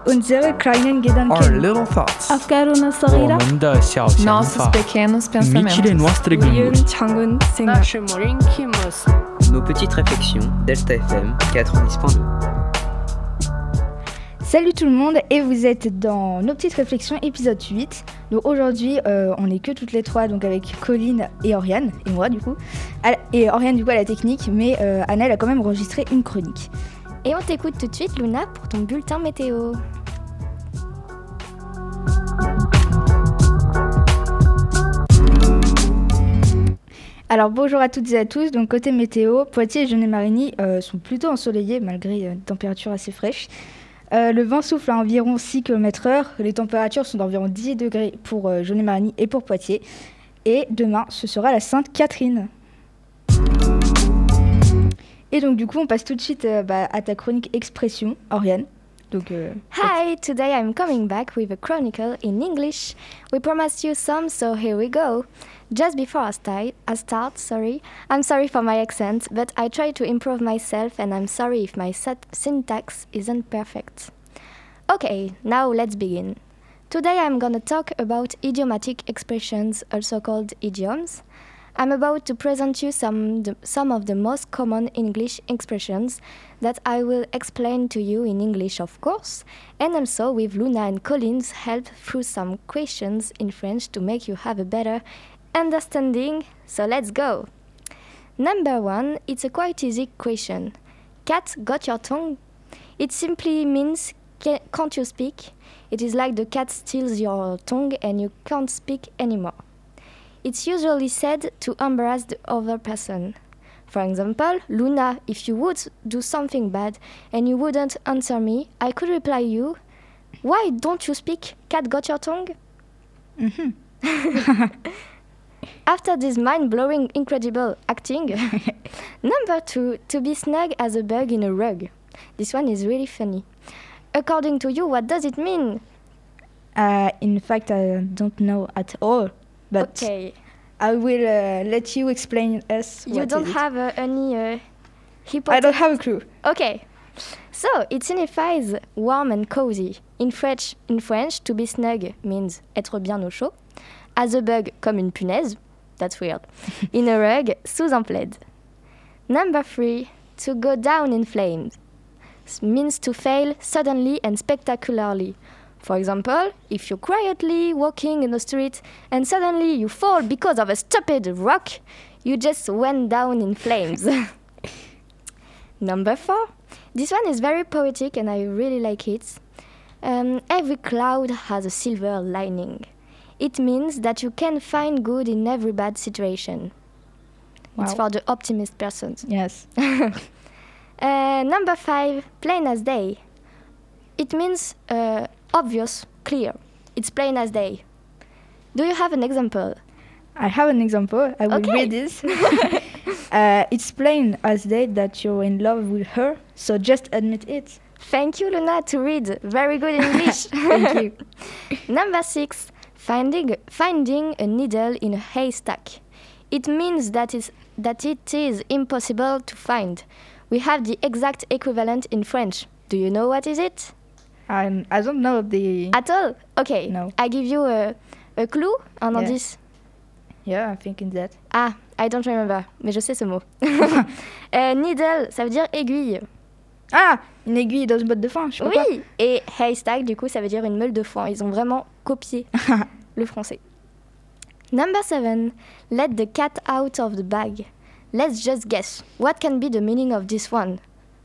unsere kleinen Our Gedanken. little thoughts. أفكارنا 我 الصغيرة. 们的小想 Nossos 法。 pequenos Amici le pensamentos. nostri ginguli. 우리의 작은 생각. Nos petites réflexions, Delta FM 90.2. Salut tout le monde et vous êtes dans nos petites réflexions épisode 8. Donc aujourd'hui on n'est que toutes les trois, donc avec Colline et Oriane et moi du coup. Et Oriane du coup à la technique, mais Anna elle a quand même enregistré une chronique. Et on t'écoute tout de suite, Luna, pour ton bulletin météo. Alors bonjour à toutes et à tous, donc côté météo, Poitiers et Genet-Marigny sont plutôt ensoleillés malgré une température assez fraîche. Le vent souffle à environ 6 km/h, les températures sont d'environ 10 degrés pour Genet-Marigny et pour Poitiers. Et demain, ce sera la Sainte-Catherine. Et donc du coup, on passe tout de suite à ta chronique Expression, Oriane. Donc, Hi, today I'm coming back with a chronicle in English. We promised you some, so here we go. Just before I start, I'm sorry for my accent, but I try to improve myself and I'm sorry if my syntax isn't perfect. Okay, now let's begin. Today I'm gonna talk about idiomatic expressions, also called idioms. I'm about to present you some of the most common English expressions that I will explain to you in English, of course, and also with Luna and Colin's help through some questions in French to make you have a better understanding. So let's go. Number 1, it's a quite easy question. Cat got your tongue? It simply means can't you speak? It is like the cat steals your tongue and you can't speak anymore. It's usually said to embarrass the other person. For example, Luna, if you would do something bad and you wouldn't answer me, I could reply you, why don't you speak? Cat got your tongue? After this mind-blowing, incredible acting, number 2, to be snug as a bug in a rug. This one is really funny. According to you, what does it mean? in fact, I don't know at all. But Okay. I will let you explain us. You what don't is it. have any I hypothesis? don't have a clue. Okay. So, it signifies warm and cozy. In French, to be snug means être bien au chaud. As a bug, comme une punaise. That's weird. In a rug, sous un plaid. Number 3, to go down in flames. Means to fail suddenly and spectacularly. For example, if you're quietly walking in the street and suddenly you fall because of a stupid rock, you just went down in flames. Number 4. This one is very poetic and I really like it. Every cloud has a silver lining. It means that you can find good in every bad situation. It's Wow. for the optimist persons. Yes. Number 5, plain as day. It means obvious, clear. It's plain as day. Do you have an example? I have an example. I will Okay. read this. It's plain as day that you're in love with her, so just admit it. Thank you, Luna, to read. Very good English. Thank you. Number 6, finding a needle in a haystack. It means that it is impossible to find. We have the exact equivalent in French. Do you know what is it? I don't know the... At all? Okay. No. I give you a clue, un Yeah. indice. Yeah, I'm thinking that. Ah, I don't remember, mais je sais ce mot. Needle, ça veut dire aiguille. Ah, une aiguille dans une botte de foin, je sais pas quoi. Oui, et haystack, du coup, ça veut dire une meule de foin. Ils ont vraiment copié le français. Number 7, let the cat out of the bag. Let's just guess. What can be the meaning of this one?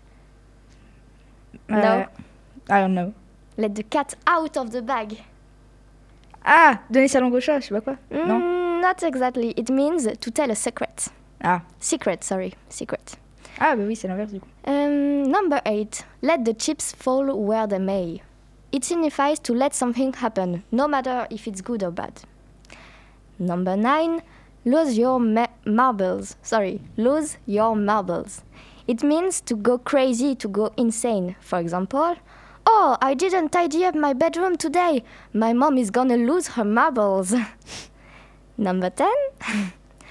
No. I don't know. Let the cat out of the bag. Ah, donner sa langue au chat, je sais pas quoi. Non. Not exactly. It means to tell a secret. Ah. Secret. Ah, bah oui, c'est l'inverse du coup. Number 8, let the chips fall where they may. It signifies to let something happen, no matter if it's good or bad. Number 9, lose your marbles. Lose your marbles. It means to go crazy, to go insane. For example, oh, I didn't tidy up my bedroom today. My mom is gonna lose her marbles. Number 10,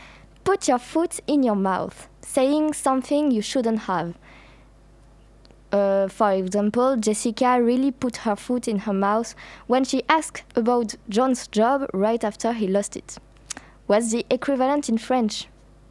put your foot in your mouth, saying something you shouldn't have. For example, Jessica really put her foot in her mouth when she asked about John's job right after he lost it. What's the equivalent in French?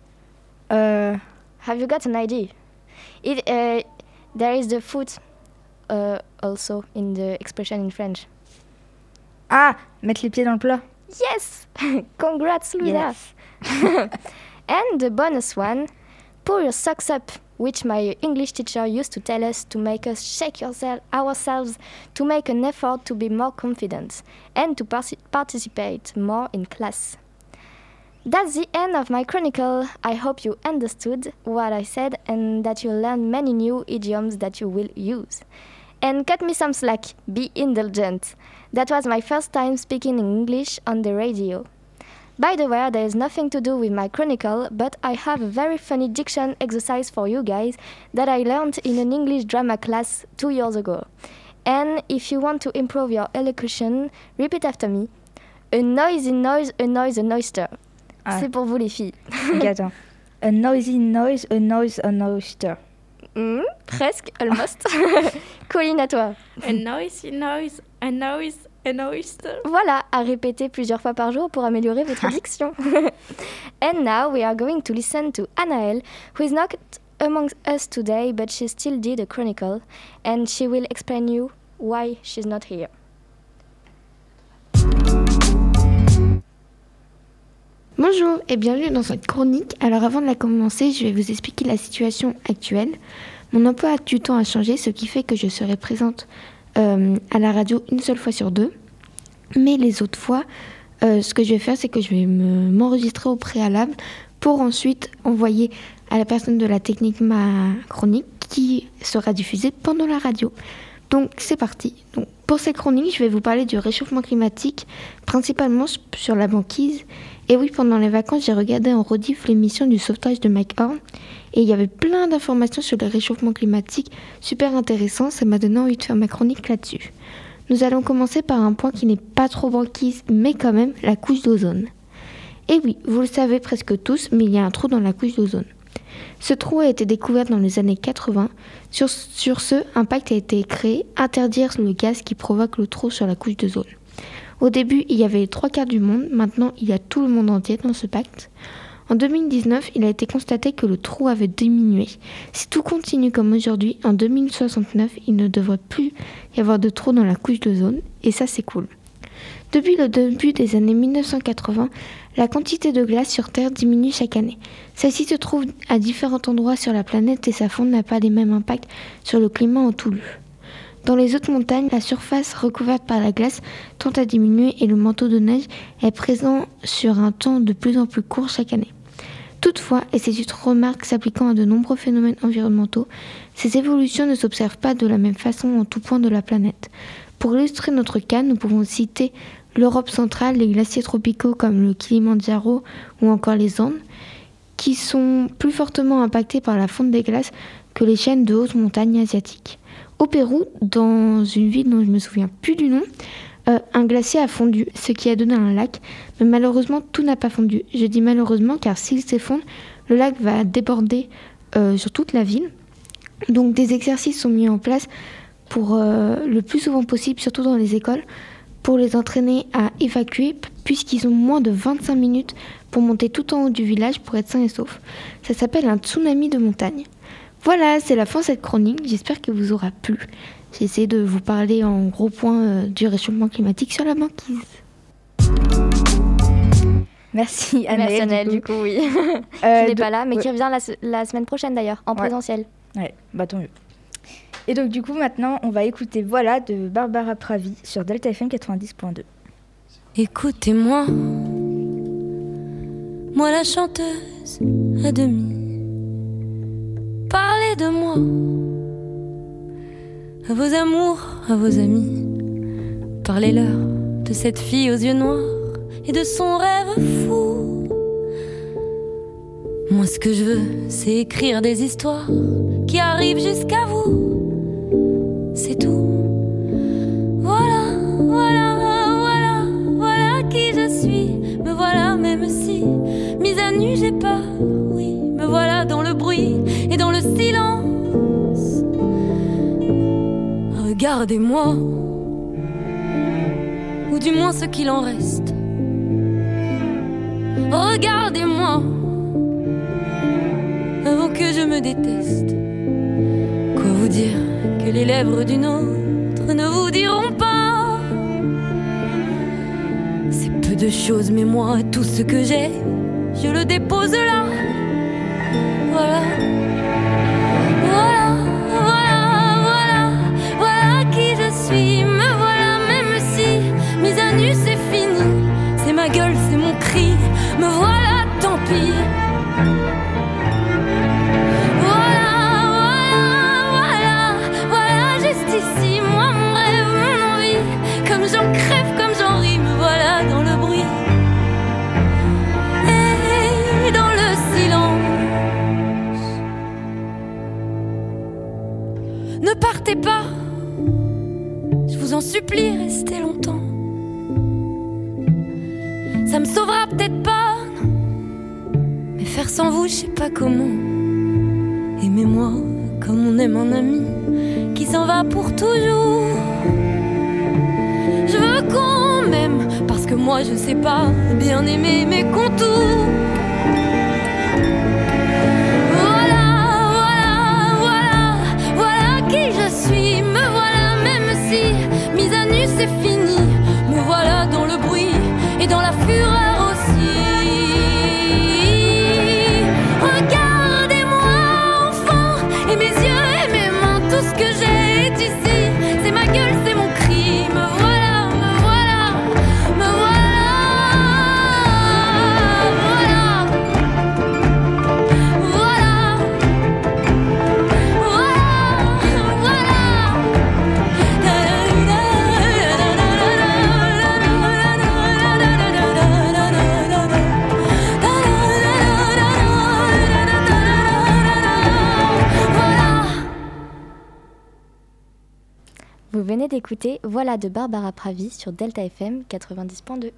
Have you got an idea? There is the foot also in the expression in French. Ah, mettre les pieds dans le plat. Yes! Congrats, Louisa! Yes. And the bonus one, pull your socks up, which my English teacher used to tell us to make us shake ourselves to make an effort to be more confident and to participate more in class. That's the end of my chronicle. I hope you understood what I said and that you learned many new idioms that you will use. And cut me some slack, be indulgent. That was my first time speaking in English on the radio. By the way, there is nothing to do with my chronicle, but I have a very funny diction exercise for you guys that I learned in an English drama class 2 years ago. And if you want to improve your elocution, repeat after me. A noisy noise, a noise, an oyster. Ah. C'est pour vous les filles. Ok, attends. A noisy noise, a noise, an oyster. Presque, almost. Colline, à toi. A noisy noise, a noise, an oyster. Voilà, à répéter plusieurs fois par jour pour améliorer votre diction. And now we are going to listen to Anaëlle, who is not among us today, but she still did a chronicle, and she will explain you why she's not here. Bonjour et bienvenue dans cette chronique. Alors avant de la commencer, je vais vous expliquer la situation actuelle. Mon emploi du temps a changé, ce qui fait que je serai présente à la radio une seule fois sur 2. Mais les autres fois, ce que je vais faire, c'est que je vais m'enregistrer au préalable pour ensuite envoyer à la personne de la technique ma chronique qui sera diffusée pendant la radio. Donc c'est parti. Donc, pour cette chronique, je vais vous parler du réchauffement climatique, principalement sur la banquise. Et oui, pendant les vacances, j'ai regardé en rediff l'émission du sauvetage de Mike Horn. Et il y avait plein d'informations sur le réchauffement climatique, super intéressant. Ça m'a donné envie de faire ma chronique là-dessus. Nous allons commencer par un point qui n'est pas trop banquise, mais quand même, la couche d'ozone. Et oui, vous le savez presque tous, mais il y a un trou dans la couche d'ozone. Ce trou a été découvert dans les années 80. Sur ce, un pacte a été créé, interdire le gaz qui provoque le trou sur la couche d'ozone. Au début, il y avait les 3/4 du monde. Maintenant, il y a tout le monde entier dans ce pacte. En 2019, il a été constaté que le trou avait diminué. Si tout continue comme aujourd'hui, en 2069, il ne devrait plus y avoir de trou dans la couche d'ozone. Et ça, c'est cool. Depuis le début des années 1980, la quantité de glace sur Terre diminue chaque année. Celle-ci se trouve à différents endroits sur la planète et sa fonte n'a pas les mêmes impacts sur le climat en tout lieu. Dans les hautes montagnes, la surface recouverte par la glace tend à diminuer et le manteau de neige est présent sur un temps de plus en plus court chaque année. Toutefois, et c'est une remarque s'appliquant à de nombreux phénomènes environnementaux, ces évolutions ne s'observent pas de la même façon en tout point de la planète. Pour illustrer notre cas, nous pouvons citer l'Europe centrale, les glaciers tropicaux comme le Kilimandjaro ou encore les Andes, qui sont plus fortement impactés par la fonte des glaces que les chaînes de hautes montagnes asiatiques. Au Pérou, dans une ville dont je ne me souviens plus du nom, un glacier a fondu, ce qui a donné un lac, mais malheureusement tout n'a pas fondu. Je dis malheureusement car s'il s'effondre, le lac va déborder sur toute la ville. Donc des exercices sont mis en place pour le plus souvent possible, surtout dans les écoles, pour les entraîner à évacuer, puisqu'ils ont moins de 25 minutes pour monter tout en haut du village pour être sains et saufs. Ça s'appelle un tsunami de montagne. Voilà, c'est la fin de cette chronique, j'espère qu'elle vous aura plu. J'ai essayé de vous parler en gros points du réchauffement climatique sur la banquise. Merci Anaëlle. Du coup, oui. Qui n'est pas là, mais qui revient la semaine prochaine d'ailleurs, en présentiel. Ouais, bah tant mieux. Et donc du coup maintenant on va écouter Voilà de Barbara Pravi sur Delta FM 90.2. Écoutez-moi, moi la chanteuse à demi. Parlez de moi, à vos amours, à vos amis. Parlez-leur de cette fille aux yeux noirs et de son rêve fou. Moi ce que je veux, c'est écrire des histoires qui arrivent jusqu'à vous. C'est tout. Voilà, voilà, voilà, voilà qui je suis. Me voilà même si, mise à nu j'ai peur, oui. Me voilà dans le bruit et dans le silence. Regardez-moi, ou du moins ce qu'il en reste. Regardez-moi, avant que je me déteste. Quoi vous dire que les lèvres d'une autre ne vous diront pas? C'est peu de choses, mais moi, tout ce que j'ai, je le dépose là. Voilà. Voilà, voilà, voilà, voilà qui je suis. Me voilà, même si mise à nu c'est fini. C'est ma gueule, c'est mon cri. Me voilà, tant pis. Voilà, voilà, voilà, voilà, juste ici, moi, mon rêve, mon envie. Comme j'en crève, comme j'en ris, me voilà dans le bruit. Et dans le silence. Ne partez pas, je vous en supplie, restez longtemps. Ça me sauvera peut-être pas, non. Mais faire sans vous, je sais pas comment. Aimez-moi comme on aime un ami qui s'en va pour toujours. Je veux qu'on m'aime, parce que moi je sais pas bien aimer mes contours. Me voilà, même si mise à nu c'est fini. Me voilà dans le bruit et dans la fureur aussi. Regardez-moi enfant, et mes yeux et mes mains, tout ce que j'ai est ici. C'est ma gueule, c'est mon cri. Me voilà, me voilà, me voilà. Voilà. Voilà. Vous venez d'écouter Voilà de Barbara Pravi sur Delta FM 90.2.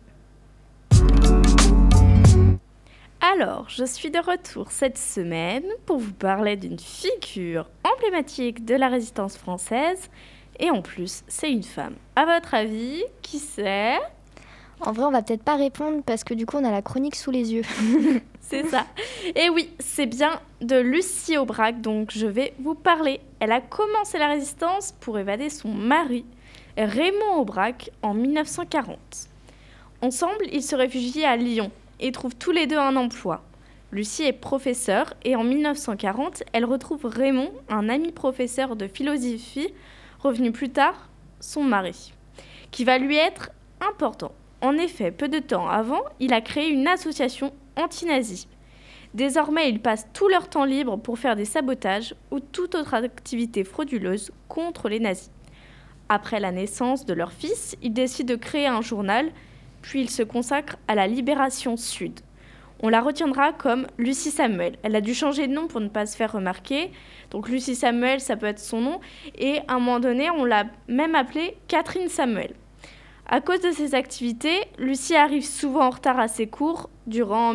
Alors, je suis de retour cette semaine pour vous parler d'une figure emblématique de la résistance française. Et en plus, c'est une femme. À votre avis, qui c'est ? En vrai, on va peut-être pas répondre parce que du coup, on a la chronique sous les yeux. C'est ça. Et oui, c'est bien de Lucie Aubrac dont je vais vous parler. Elle a commencé la résistance pour évader son mari, Raymond Aubrac, en 1940. Ensemble, ils se réfugient à Lyon et trouvent tous les deux un emploi. Lucie est professeure et en 1940, elle retrouve Raymond, un ami professeur de philosophie, revenu plus tard, son mari, qui va lui être important. En effet, peu de temps avant, il a créé une association anti-nazie. Désormais, ils passent tout leur temps libre pour faire des sabotages ou toute autre activité frauduleuse contre les nazis. Après la naissance de leur fils, ils décident de créer un journal, puis ils se consacrent à la Libération Sud. On la retiendra comme Lucie Samuel. Elle a dû changer de nom pour ne pas se faire remarquer. Donc Lucie Samuel, ça peut être son nom. Et à un moment donné, on l'a même appelée Catherine Samuel. À cause de ses activités, Lucie arrive souvent en retard à ses cours en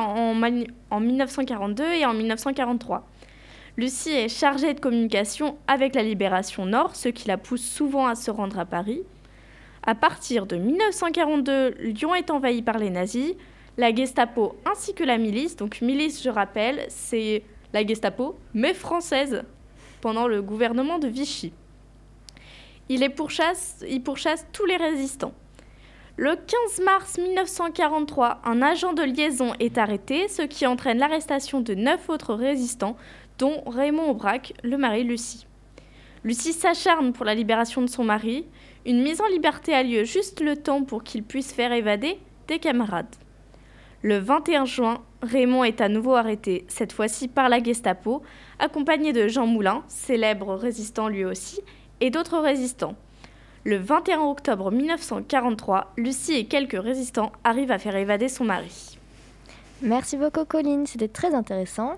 1942 et en 1943. Lucie est chargée de communication avec la Libération Nord, ce qui la pousse souvent à se rendre à Paris. À partir de 1942, Lyon est envahi par les nazis, la Gestapo ainsi que la milice. Donc milice, je rappelle, c'est la Gestapo, mais française, pendant le gouvernement de Vichy. Il pourchasse tous les résistants. Le 15 mars 1943, un agent de liaison est arrêté, ce qui entraîne l'arrestation de 9 autres résistants, dont Raymond Aubrac, le mari de Lucie. Lucie s'acharne pour la libération de son mari. Une mise en liberté a lieu juste le temps pour qu'il puisse faire évader des camarades. Le 21 juin, Raymond est à nouveau arrêté, cette fois-ci par la Gestapo, accompagné de Jean Moulin, célèbre résistant lui aussi, et d'autres résistants. Le 21 octobre 1943, Lucie et quelques résistants arrivent à faire évader son mari. Merci beaucoup, Colline, c'était très intéressant.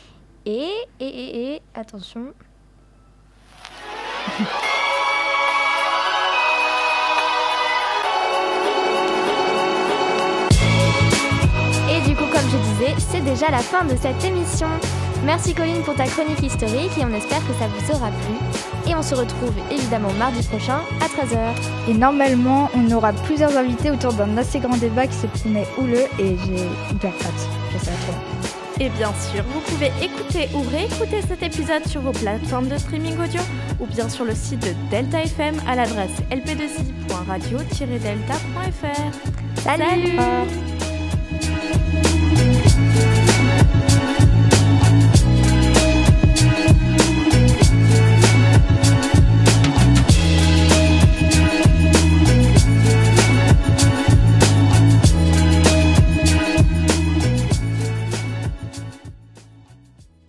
Et attention. Et du coup, comme je disais, c'est déjà la fin de cette émission. Merci Colline pour ta chronique historique et on espère que ça vous aura plu. Et on se retrouve évidemment mardi prochain à 13h. Et normalement, on aura plusieurs invités autour d'un assez grand débat qui se promet houleux et j'ai hyper hâte. Ça va trop bien. Et bien sûr, vous pouvez écouter ou réécouter cet épisode sur vos plateformes de streaming audio ou bien sur le site de Delta FM à l'adresse lp2i.radio-delta.fr. Salut. Salut.